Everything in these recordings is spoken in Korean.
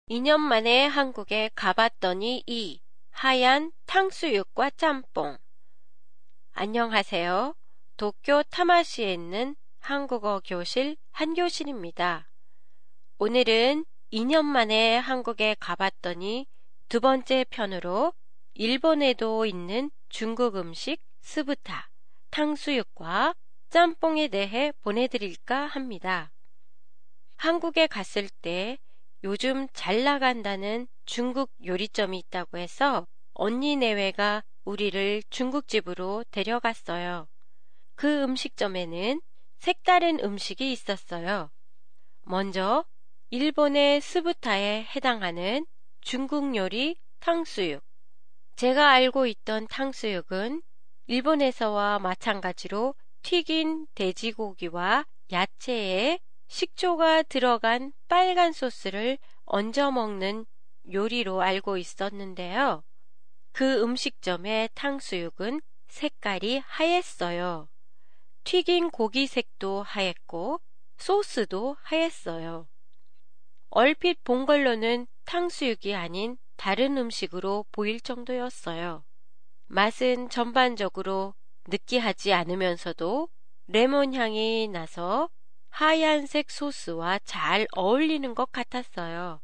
2년 만에 한국에 가봤더니 이 하얀 탕수육과 짬뽕. 안녕하세요. 도쿄 타마시에 있는 한국어 교실 한교실입니다. 오늘은 2년 만에 한국에 가봤더니 두 번째 편으로 일본에도 있는 중국 음식 스부타, 탕수육과 짬뽕에 대해 보내드릴까 합니다. 한국에 갔을 때 요즘 잘 나간다는 중국 요리점이 있다고 해서 언니 내외가 우리를 중국집으로 데려갔어요. 그 음식점에는 색다른 음식이 있었어요. 먼저 일본의 스부타에 해당하는 중국 요리 탕수육. 제가 알고 있던 탕수육은 일본에서와 마찬가지로 튀긴 돼지고기와 야채에 식초가 들어간 빨간 소스를 얹어 먹는 요리로 알고 있었는데요. 그 음식점의 탕수육은 색깔이 하였어요. 튀긴 고기 색도 하얗고 소스도 하였어요. 얼핏 본 걸로는 탕수육이 아닌 다른 음식으로 보일 정도였어요. 맛은 전반적으로 느끼하지 않으면서도 레몬 향이 나서 하얀색 소스와 잘 어울리는 것 같았어요.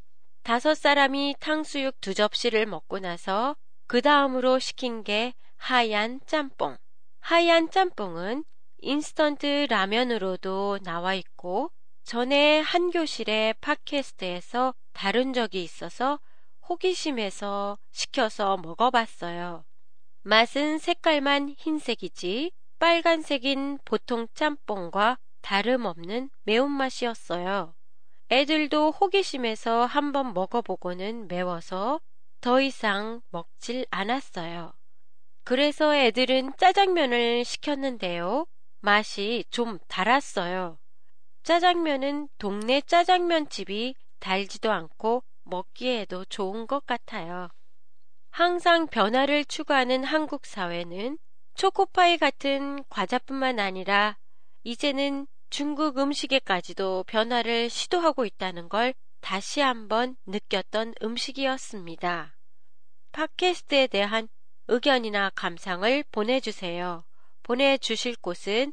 5사람이 탕수육 2접시를 먹고 나서 그 다음으로 시킨 게 하얀 짬뽕. 하얀 짬뽕은 인스턴트 라면으로도 나와 있고 전에 한 교실의 팟캐스트에서 다룬 적이 있어서 호기심에서 시켜서 먹어봤어요. 맛은 색깔만 흰색이지 빨간색인 보통 짬뽕과 다름없는 매운맛이었어요. 애들도 호기심에서 한번 먹어보고는 매워서 더 이상 먹질 않았어요. 그래서 애들은 짜장면을 시켰는데요. 맛이 좀 달았어요. 짜장면은 동네 짜장면집이 달지도 않고 먹기에도 좋은 것 같아요. 항상 변화를 추구하는 한국 사회는 초코파이 같은 과자뿐만 아니라 이제는 중국 음식에까지도 변화를 시도하고 있다는 걸 다시 한번 느꼈던 음식이었습니다. 팟캐스트에 대한 의견이나 감상을 보내주세요. 보내주실 곳은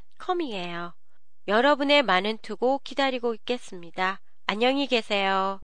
한교실.com이에요. 여러분의 많은 투고 기다리고 있겠습니다. 안녕히 계세요.